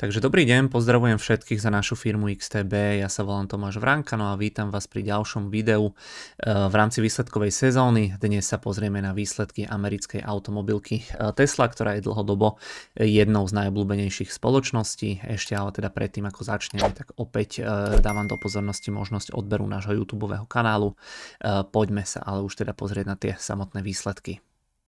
Takže dobrý deň, pozdravujem všetkých za našu firmu XTB, ja sa volám Tomáš Vránka, no a vítam vás pri ďalšom videu v rámci výsledkovej sezóny. Dnes sa pozrieme na výsledky americkej automobilky Tesla, ktorá je dlhodobo jednou z najobľúbenejších spoločností. Ešte ale teda predtým, ako začneme, tak opäť dávam do pozornosti možnosť odberu nášho YouTubeového kanálu. Poďme sa ale už teda pozrieť na tie samotné výsledky.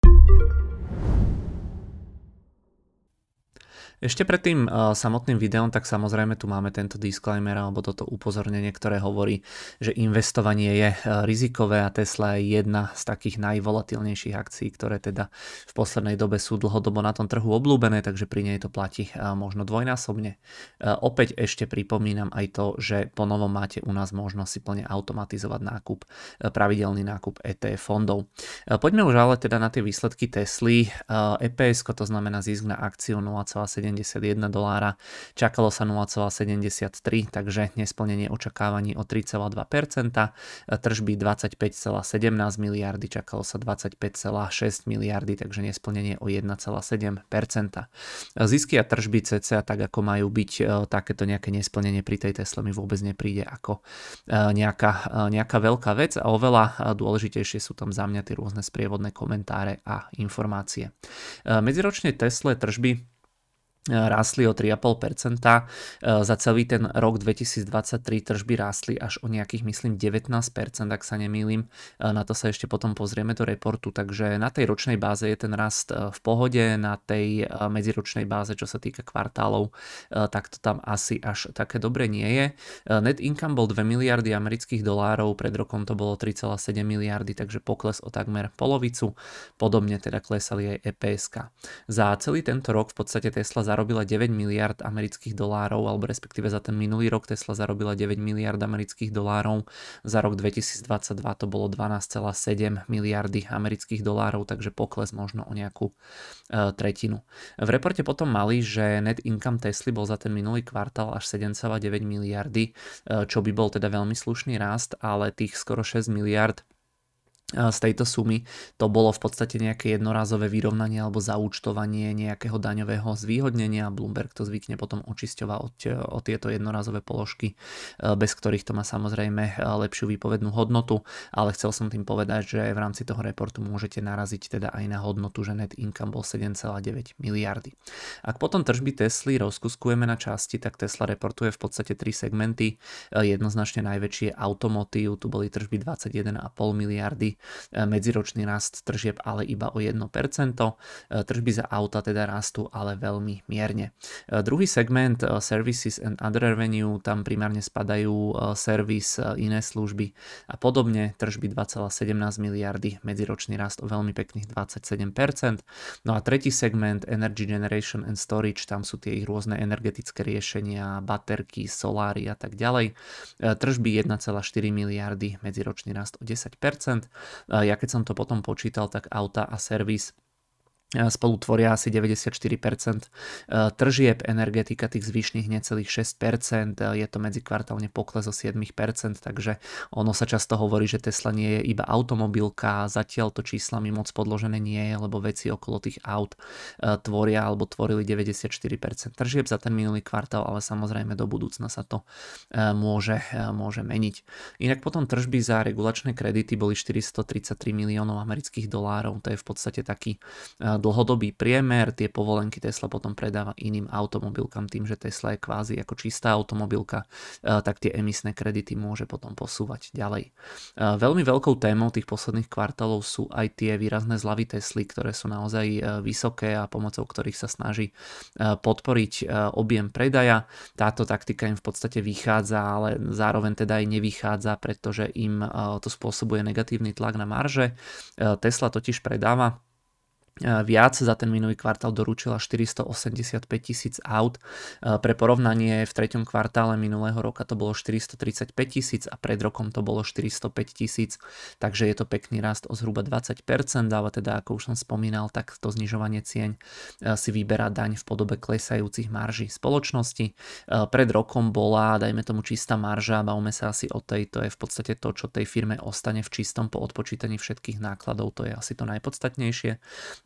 Ešte pred tým samotným videom, tak samozrejme tu máme tento disclaimer alebo toto upozornenie, ktoré hovorí, že investovanie je rizikové a Tesla je jedna z takých najvolatilnejších akcií, ktoré teda v poslednej dobe sú dlhodobo na tom trhu obľúbené, takže pri nej to platí možno dvojnásobne. Opäť ešte pripomínam aj to, že po novom máte u nás možnosť si plne automatizovať nákup, pravidelný nákup ETF fondov. Poďme už ale teda na tie výsledky Tesly. EPS, to znamená zisk na akciu 0,71 $, čakalo sa 0,73, takže nesplnenie očakávaní o 3,2%, tržby 25,17 miliardy, čakalo sa 25,6 miliardy, takže nesplnenie o 1,7%. Zisky a tržby cca tak ako majú byť, takéto nejaké nesplnenie pri tej Tesle mi vôbec nepríde ako nejaká veľká vec a oveľa dôležitejšie sú tam za mňa tie rôzne sprievodné komentáre a informácie. Medziročne Tesla tržby rástli o 3,5%, za celý ten rok 2023 tržby rástli až o nejakých, myslím, 19%, ak sa nemýlim. Na to sa ešte potom pozrieme do reportu, takže na tej ročnej báze je ten rast v pohode, na tej medziročnej báze, čo sa týka kvartálov, tak to tam asi až také dobre nie je. Net income bol 2 miliardy amerických dolárov, pred rokom to bolo 3,7 miliardy, takže pokles o takmer polovicu. Podobne teda klesali aj EPS. Za celý tento rok v podstate Tesla zarobila 9 miliard amerických dolárov, alebo respektíve za ten minulý rok Tesla zarobila 9 miliard amerických dolárov. Za rok 2022 to bolo 12,7 miliardy amerických dolárov, takže pokles možno o nejakú tretinu. V reporte potom mali, že net income Tesly bol za ten minulý kvartál až 7,9 miliardy, čo by bol teda veľmi slušný rast, ale tých skoro 6 miliard z tejto sumy to bolo v podstate nejaké jednorázové vyrovnanie alebo zaúčtovanie nejakého daňového zvýhodnenia. Bloomberg to zvykne potom očisťovať o tieto jednorázové položky, bez ktorých to má samozrejme lepšiu výpovednú hodnotu, ale chcel som tým povedať, že v rámci toho reportu môžete naraziť teda aj na hodnotu, že net income bol 7,9 miliardy. Ak potom tržby Tesly rozkuskujeme na časti, tak Tesla reportuje v podstate 3 segmenty. Jednoznačne najväčší je automotív, tu boli tržby 21,5 miliardy, medziročný rast tržieb ale iba o 1%, tržby za auta teda rastú ale veľmi mierne. Druhý segment Services and Other Revenue, tam primárne spadajú servis, iné služby a podobne, tržby 2,17 miliardy, medziročný rast o veľmi pekných 27%. No a tretí segment Energy Generation and Storage, tam sú tie ich rôzne energetické riešenia, baterky, soláry a tak ďalej, tržby 1,4 miliardy, medziročný rast o 10%. Ja keď som to potom počítal, tak auta a servis spolu tvoria asi 94% tržieb, energetika tých zvyšných necelých 6%, je to medzikvartálne pokles o 7%, takže ono sa často hovorí, že Tesla nie je iba automobilka, zatiaľ to číslami moc podložené nie je, lebo veci okolo tých aut tvoria alebo tvorili 94% tržieb za ten minulý kvartál, ale samozrejme do budúcna sa to môže meniť. Inak potom tržby za regulačné kredity boli 433 miliónov amerických dolárov, to je v podstate taký dlhodobý priemer. Tie povolenky Tesla potom predáva iným automobilkám, tým, že Tesla je kvázi ako čistá automobilka, tak tie emisné kredity môže potom posúvať ďalej. Veľmi veľkou témou tých posledných kvartálov sú aj tie výrazné zľavy Tesly, ktoré sú naozaj vysoké a pomocou ktorých sa snaží podporiť objem predaja. Táto taktika im v podstate vychádza, ale zároveň teda aj nevychádza, pretože im to spôsobuje negatívny tlak na marže. Tesla totiž predáva viac, za ten minulý kvartál doručila 485 000 aut. Pre porovnanie v treťom kvartále minulého roka to bolo 435 000 a pred rokom to bolo 405 000, takže je to pekný rast o zhruba 20%, ale teda ako už som spomínal, tak to znižovanie cien si vyberá daň v podobe klesajúcich marží spoločnosti. Pred rokom bola, dajme tomu, čistá marža, bavme sa asi o tej, to je v podstate to, čo tej firme ostane v čistom po odpočítaní všetkých nákladov, to je asi to najpodstatnejšie.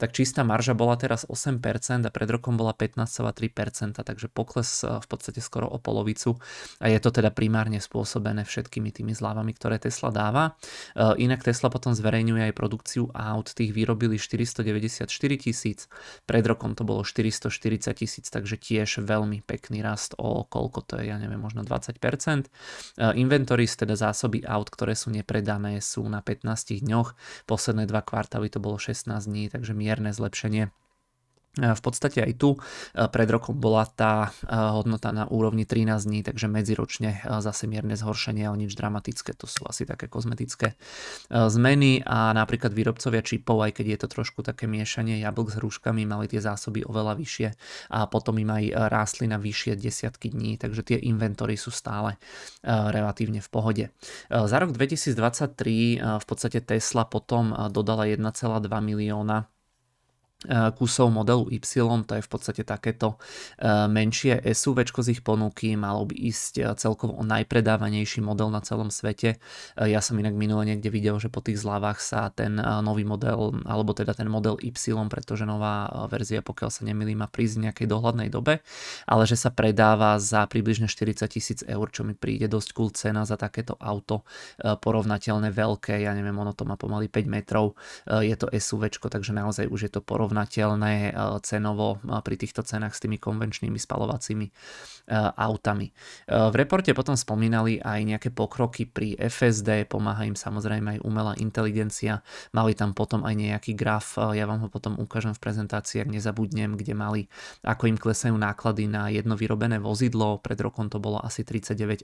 tak čistá marža bola teraz 8% a pred rokom bola 15,3%, takže pokles v podstate skoro o polovicu a je to teda primárne spôsobené všetkými tými zľavami, ktoré Tesla dáva. Inak Tesla potom zverejňuje aj produkciu aut, tých vyrobili 494 000, pred rokom to bolo 440 000, takže tiež veľmi pekný rast o koľko to je, ja neviem, možno 20%. Inventories, teda zásoby aut, ktoré sú nepredané, sú na 15 dňoch, posledné 2 kvartály to bolo 16 dní, takže mierne zlepšenie. V podstate aj tu pred rokom bola tá hodnota na úrovni 13 dní, takže medziročne zase mierne zhoršenie, ale nič dramatické, to sú asi také kozmetické zmeny a napríklad výrobcovia čipov, aj keď je to trošku také miešanie jablk s hruškami, mali tie zásoby oveľa vyššie a potom im aj rástli na vyššie desiatky dní, takže tie inventory sú stále relatívne v pohode. Za rok 2023 v podstate Tesla potom dodala 1,2 milióna kusov modelu Y, to je v podstate takéto menšie SUVčko z ich ponuky, malo by ísť celkovo o najpredávanejší model na celom svete. Ja som inak minule niekde videl, že po tých zľavách sa ten nový model, alebo teda ten model Y, pretože nová verzia, pokiaľ sa nemýlim, má prísť v nejakej dohľadnej dobe, ale že sa predáva za približne 40 000 eur, čo mi príde dosť cool cena za takéto auto, porovnateľné veľké, ja neviem, ono to má pomaly 5 metrov, je to SUVčko, takže naozaj už je to porovnateľné cenovo pri týchto cenách s tými konvenčnými spalovacími autami. V reporte potom spomínali aj nejaké pokroky pri FSD, pomáha im samozrejme aj umelá inteligencia, mali tam potom aj nejaký graf, ja vám ho potom ukážem v prezentácii, ak nezabudnem, kde mali, ako im klesajú náklady na jedno vyrobené vozidlo, pred rokom to bolo asi $39,500,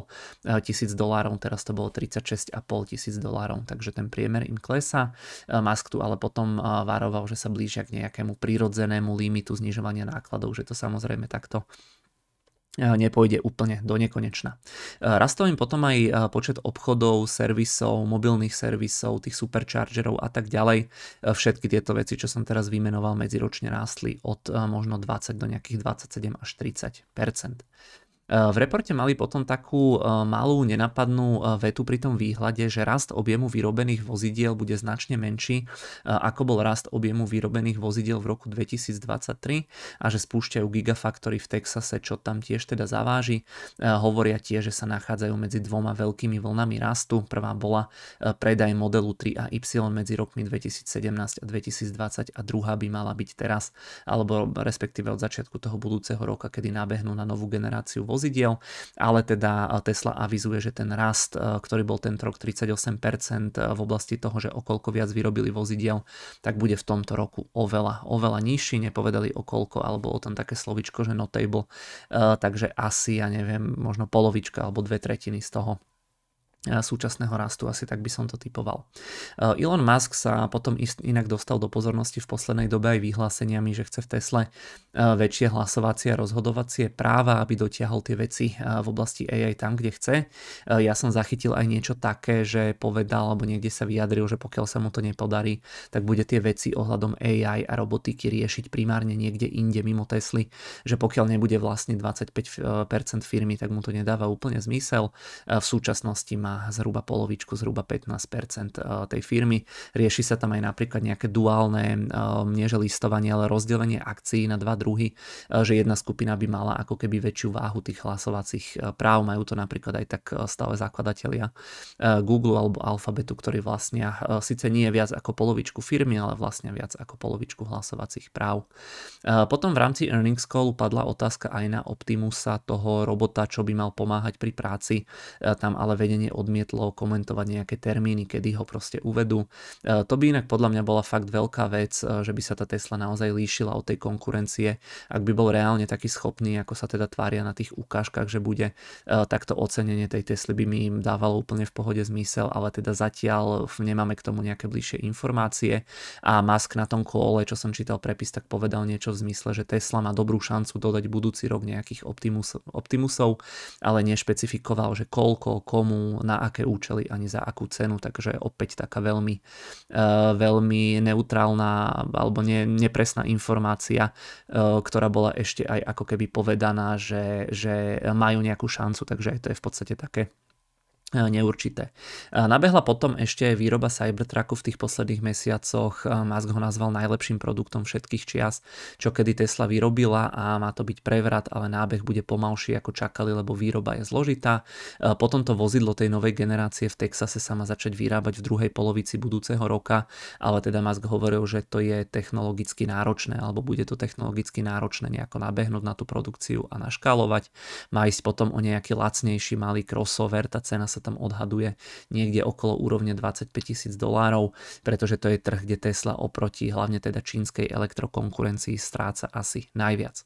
teraz to bolo $36,500, takže ten priemer im klesá. Musk tu ale potom varoval, že sa blíži k nejakému prirodzenému limitu znižovania nákladov, že to samozrejme takto nepôjde úplne do nekonečna. Rastol im potom aj počet obchodov, servisov, mobilných servisov, tých superchargerov a tak ďalej. Všetky tieto veci, čo som teraz vymenoval, medziročne rástli od možno 20 do nejakých 27 až 30%. V reporte mali potom takú malú nenapadnú vetu pri tom výhľade, že rast objemu vyrobených vozidiel bude značne menší, ako bol rast objemu vyrobených vozidiel v roku 2023 a že spúšťajú Gigafactory v Texase, čo tam tiež teda zaváži. Hovoria tiež, že sa nachádzajú medzi dvoma veľkými vlnami rastu. Prvá bola predaj modelu 3 a Y medzi rokmi 2017 a 2020 a druhá by mala byť teraz, alebo respektíve od začiatku toho budúceho roka, kedy nabehnú na novú generáciu vozidiel, ale teda Tesla avizuje, že ten rast, ktorý bol tento rok 38% v oblasti toho, že okolko viac vyrobili vozidiel, tak bude v tomto roku oveľa nižší, nepovedali o koľko, alebo o tom také slovičko, že notable, takže asi, ja neviem, možno polovička alebo 2/3 z toho súčasného rastu, asi tak by som to typoval. Elon Musk sa potom inak dostal do pozornosti v poslednej dobe aj vyhláseniami, že chce v Tesle väčšie hlasovacie a rozhodovacie práva, aby dotiahol tie veci v oblasti AI tam, kde chce. Ja som zachytil aj niečo také, že povedal, alebo niekde sa vyjadril, že pokiaľ sa mu to nepodarí, tak bude tie veci ohľadom AI a robotiky riešiť primárne niekde inde mimo Tesly, že pokiaľ nebude vlastne 25% firmy, tak mu to nedáva úplne zmysel. V súčasnosti má zhruba polovičku, zhruba 15% tej firmy. Rieši sa tam aj napríklad nejaké duálne, nieže listovanie, ale rozdelenie akcií na dva druhy, že jedna skupina by mala ako keby väčšiu váhu tých hlasovacích práv. Majú to napríklad aj tak stále zakladatelia Google alebo Alphabetu, ktorí vlastnia síce nie viac ako polovičku firmy, ale vlastne viac ako polovičku hlasovacích práv. Potom v rámci earnings callu padla otázka aj na Optimusa, toho robota, čo by mal pomáhať pri práci. Tam ale vedenie odmietlo komentovať nejaké termíny, kedy ho proste uvedú. To by inak podľa mňa bola fakt veľká vec, že by sa tá Tesla naozaj líšila od tej konkurencie, ak by bol reálne taký schopný, ako sa teda tvária na tých ukážkach, že bude, takto ocenenie tej Tesly by mi im dávalo úplne v pohode zmysel, ale teda zatiaľ nemáme k tomu nejaké bližšie informácie a Musk na tom kole, čo som čítal prepis, tak povedal niečo v zmysle, že Tesla má dobrú šancu dodať budúci rok nejakých Optimusov, ale nešpecifikoval, že koľko, komu, na aké účely, ani za akú cenu, takže opäť taká veľmi neutrálna alebo nepresná informácia, ktorá bola ešte aj ako keby povedaná, že majú nejakú šancu, takže aj to je v podstate také neurčité. Nabehla potom ešte výroba Cybertrucku v tých posledných mesiacoch. Musk ho nazval najlepším produktom všetkých čias, čo kedy Tesla vyrobila a má to byť prevrat, ale nábeh bude pomalší ako čakali, lebo výroba je zložitá. Potom to vozidlo tej novej generácie v Texase sa má začať vyrábať v druhej polovici budúceho roka, ale teda Musk hovoril, že to je technologicky náročné, alebo bude to technologicky náročné nejako nabehnúť na tú produkciu a naškálovať. Má ísť potom o nejaký lacnejší malý crossover, tá cena sa tam odhaduje niekde okolo úrovne $25,000, pretože to je trh, kde Tesla oproti hlavne teda čínskej elektrokonkurencii stráca asi najviac.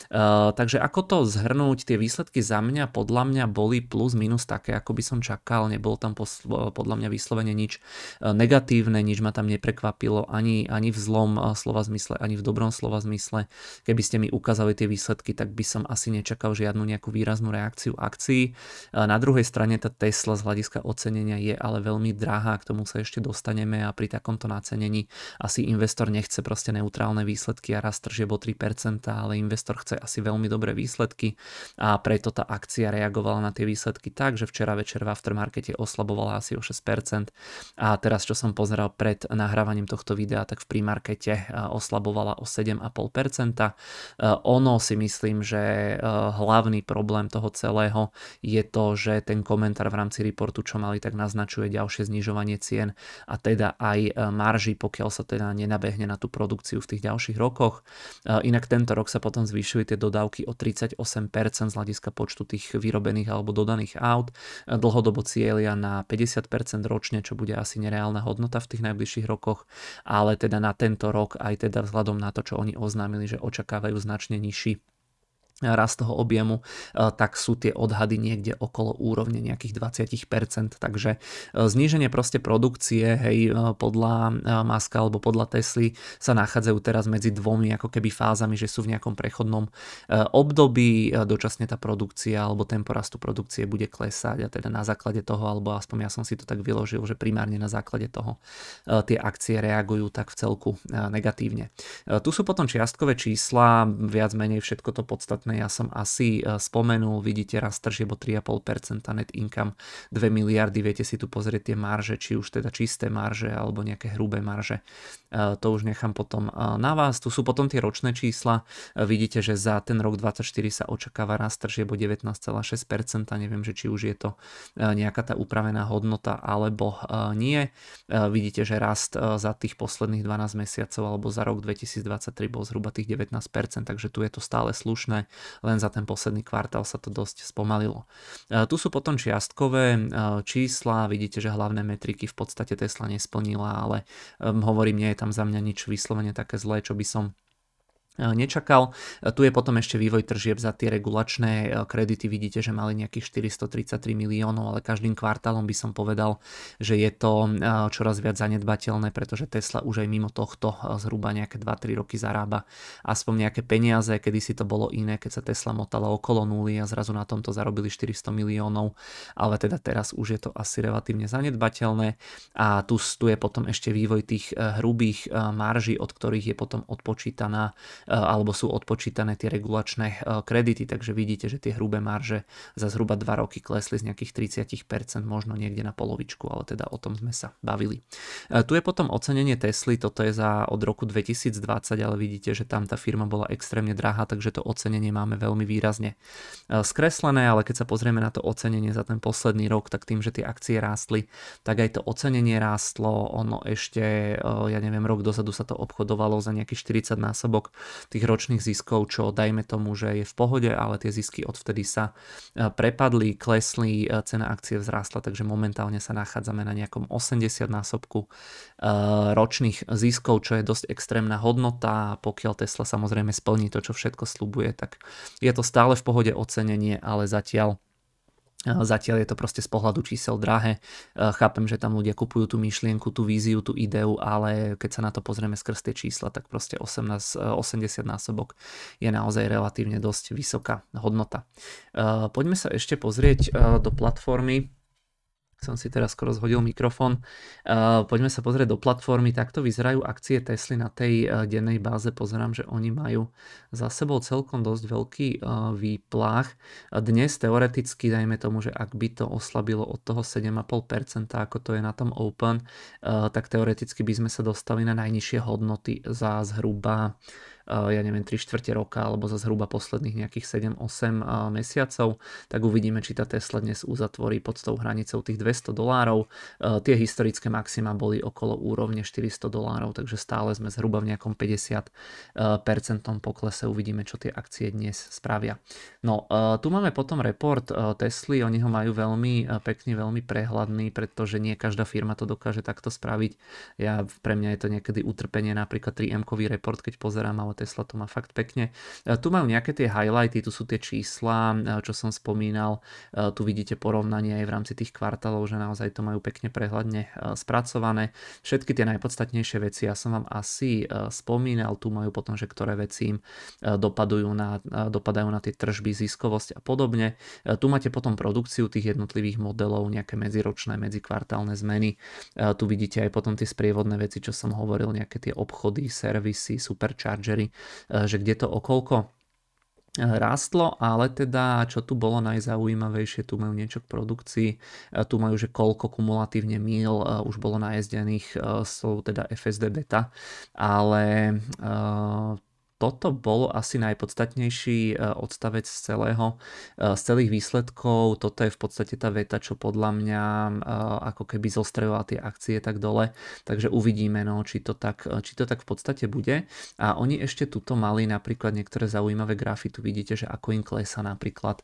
Takže ako to zhrnúť, tie výsledky za mňa, podľa mňa boli plus minus také, ako by som čakal, nebolo tam podľa mňa vyslovene nič negatívne, nič ma tam neprekvapilo ani v zlom slova zmysle, ani v dobrom slova zmysle. Keby ste mi ukázali tie výsledky, tak by som asi nečakal žiadnu nejakú výraznú reakciu akcií. Na druhej strane tá Tesla z hľadiska ocenenia je ale veľmi drahá, k tomu sa ešte dostaneme a pri takomto nacenení asi investor nechce proste neutrálne výsledky a rast tržieb o 3%, ale investor chce asi veľmi dobré výsledky a preto tá akcia reagovala na tie výsledky tak, že včera večer v aftermarkete oslabovala asi o 6% a teraz čo som pozeral pred nahrávaním tohto videa, tak v premarkete oslabovala o 7,5%. Ono si myslím, že hlavný problém toho celého je to, že ten komentár v rámci reportu, čo mali, tak naznačuje ďalšie znižovanie cien a teda aj marží, pokiaľ sa teda nenabehne na tú produkciu v tých ďalších rokoch. Inak tento rok sa potom zvýšili tie dodávky o 38% z hľadiska počtu tých vyrobených alebo dodaných aut. Dlhodobo cieľia na 50% ročne, čo bude asi nereálna hodnota v tých najbližších rokoch, ale teda na tento rok aj teda vzhľadom na to, čo oni oznámili, že očakávajú značne nižší rast toho objemu, tak sú tie odhady niekde okolo úrovne nejakých 20%, takže zníženie proste produkcie, hej, podľa Muska alebo podľa Tesly sa nachádzajú teraz medzi dvomi ako keby fázami, že sú v nejakom prechodnom období, dočasne tá produkcia alebo tempo rastu produkcie bude klesať a teda na základe toho, alebo aspoň ja som si to tak vyložil, že primárne na základe toho tie akcie reagujú tak v celku negatívne. Tu sú potom čiastkové čísla, viac menej všetko to podstatné ja som asi spomenul, vidíte rast tržieb o 3,5%, net income 2 miliardy, viete si tu pozrieť tie marže, či už teda čisté marže alebo nejaké hrubé marže, to už nechám potom na vás. Tu sú potom tie ročné čísla, vidíte, že za ten rok 2024 sa očakáva rast tržieb o 19,6%, neviem, že či už je to nejaká tá upravená hodnota alebo nie. Vidíte, že rast za tých posledných 12 mesiacov alebo za rok 2023 bol zhruba tých 19%, takže tu je to stále slušné, len za ten posledný kvartál sa to dosť spomalilo. Tu sú potom čiastkové čísla, vidíte, že hlavné metriky v podstate Tesla nesplnila, ale hovorím, nie je tam za mňa nič vyslovene také zlé, čo by som nečakal. Tu je potom ešte vývoj tržieb za tie regulačné kredity. Vidíte, že mali nejakých 433 miliónov, ale každým kvartálom by som povedal, že je to čoraz viac zanedbateľné, pretože Tesla už aj mimo tohto zhruba nejaké 2-3 roky zarába aspoň nejaké peniaze. Kedy si to bolo iné, keď sa Tesla motala okolo nuly a zrazu na tomto zarobili 400 miliónov, ale teda teraz už je to asi relatívne zanedbateľné. A tu je potom ešte vývoj tých hrubých marží, od ktorých je potom odpočítaná alebo sú odpočítané tie regulačné kredity, takže vidíte, že tie hrubé marže za zhruba 2 roky klesli z nejakých 30%, možno niekde na polovičku, ale teda o tom sme sa bavili. Tu je potom ocenenie Tesly, toto je od roku 2020, ale vidíte, že tam tá firma bola extrémne drahá, takže to ocenenie máme veľmi výrazne skreslené, ale keď sa pozrieme na to ocenenie za ten posledný rok, tak tým, že tie akcie rástli, tak aj to ocenenie rástlo, ono ešte, ja neviem, rok dozadu sa to obchodovalo za nejakých 40 násobok tých ročných ziskov, čo dajme tomu, že je v pohode, ale tie zisky odvtedy sa prepadli, klesli, cena akcie vzrástla, takže momentálne sa nachádzame na nejakom 80 násobku ročných ziskov, čo je dosť extrémna hodnota a pokiaľ Tesla samozrejme splní to, čo všetko sľubuje, tak je to stále v pohode ocenenie, ale Zatiaľ je to proste z pohľadu čísel drahé. Chápem, že tam ľudia kupujú tú myšlienku, tú víziu, tú ideu, ale keď sa na to pozrieme skrz tie čísla, tak proste 80 násobok je naozaj relatívne dosť vysoká hodnota. Poďme sa ešte pozrieť do platformy Som si teraz skoro zhodil mikrofón. Poďme sa pozrieť do platformy. Takto vyzerajú akcie Tesly na tej dennej báze. Pozerám, že oni majú za sebou celkom dosť veľký výplach. Dnes teoreticky, dajme tomu, že ak by to oslabilo od toho 7,5%, ako to je na tom Open, tak teoreticky by sme sa dostali na najnižšie hodnoty za zhruba ja neviem, 3/4 roka alebo za zhruba posledných nejakých 7-8 mesiacov, tak uvidíme, či tá Tesla dnes uzatvorí pod tou hranicou tých $200. Tie historické maxima boli okolo úrovne $400, takže stále sme zhruba v nejakom 50% poklese. Uvidíme, čo tie akcie dnes spravia. No, tu máme potom report Tesly, oni ho majú veľmi pekný, veľmi prehľadný, pretože nie každá firma to dokáže takto spraviť. Pre mňa je to niekedy utrpenie, napríklad 3M-kový report, keď pozerám, ale Tesla to má fakt pekne. Tu majú nejaké tie highlighty, tu sú tie čísla, čo som spomínal. Tu vidíte porovnanie aj v rámci tých kvartálov, že naozaj to majú pekne prehľadne spracované. Všetky tie najpodstatnejšie veci ja som vám asi spomínal, tu majú potom, že ktoré veci im dopadajú na tie tržby, ziskovosť a podobne. Tu máte potom produkciu tých jednotlivých modelov, nejaké medziročné, medzikvartálne zmeny. Tu vidíte aj potom tie sprievodné veci, čo som hovoril, nejaké tie obchody, servisy, superchargery, že kde to okolko rástlo, ale teda čo tu bolo najzaujímavejšie, tu majú niečo k produkcii, tu majú, že koľko kumulatívne míl už bolo najezdených sú teda FSD beta, ale toto bolo asi najpodstatnejší odstavec z celých výsledkov. Toto je v podstate tá veta, čo podľa mňa ako keby zostreľovala tie akcie tak dole. Takže uvidíme, no, či to tak v podstate bude. A oni ešte tuto mali napríklad niektoré zaujímavé grafy. Tu vidíte, že ako im klesá napríklad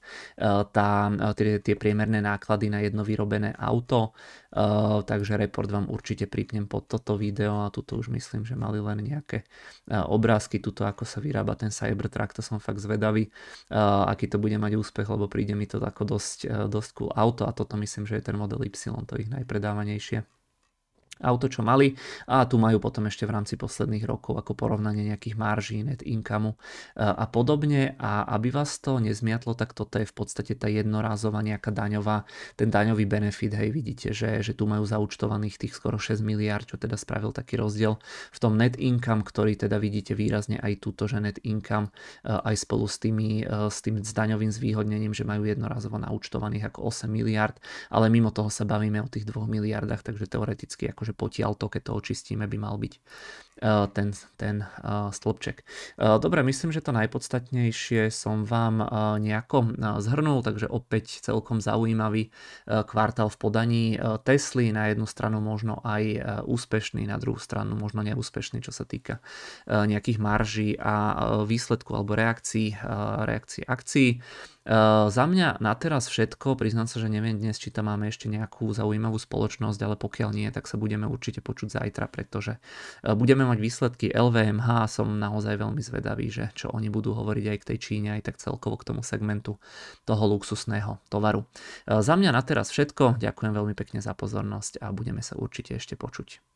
tie priemerné náklady na jedno vyrobené auto. Takže report vám určite pripnem pod toto video a tuto už myslím, že mali len nejaké obrázky, tuto ako sa vyrába ten Cybertruck, to som fakt zvedavý, aký to bude mať úspech, lebo príde mi to ako dosť cool auto a toto myslím, že je ten model Y, to ich najpredávanejšie auto, čo mali, a tu majú potom ešte v rámci posledných rokov ako porovnanie nejakých marží, net income a podobne, a aby vás to nezmiatlo, tak toto je v podstate tá jednorázová nejaká ten daňový benefit, hej, vidíte, že tu majú zaúčtovaných tých skoro 6 miliard, čo teda spravil taký rozdiel v tom net income, ktorý teda vidíte výrazne aj túto, že net income aj spolu s tým daňovým zvýhodnením, že majú jednorázovo naúčtovaných ako 8 miliard, ale mimo toho sa bavíme o tých 2 miliardách, takže teoreticky akože potiaľto, keď to očistíme, by mal byť ten stĺpček. Dobre, myslím, že to najpodstatnejšie som vám nejako zhrnul, takže opäť celkom zaujímavý kvartál v podaní Tesly, na jednu stranu možno aj úspešný, na druhú stranu možno neúspešný, čo sa týka nejakých marží a výsledku alebo reakcií akcií. Za mňa na teraz všetko, priznám sa, že neviem dnes, či tam máme ešte nejakú zaujímavú spoločnosť, ale pokiaľ nie, tak sa budeme určite počuť zajtra, pretože budeme mať výsledky LVMH, som naozaj veľmi zvedavý, že čo oni budú hovoriť aj k tej Číne, aj tak celkovo k tomu segmentu toho luxusného tovaru. Za mňa na teraz všetko, ďakujem veľmi pekne za pozornosť a budeme sa určite ešte počuť.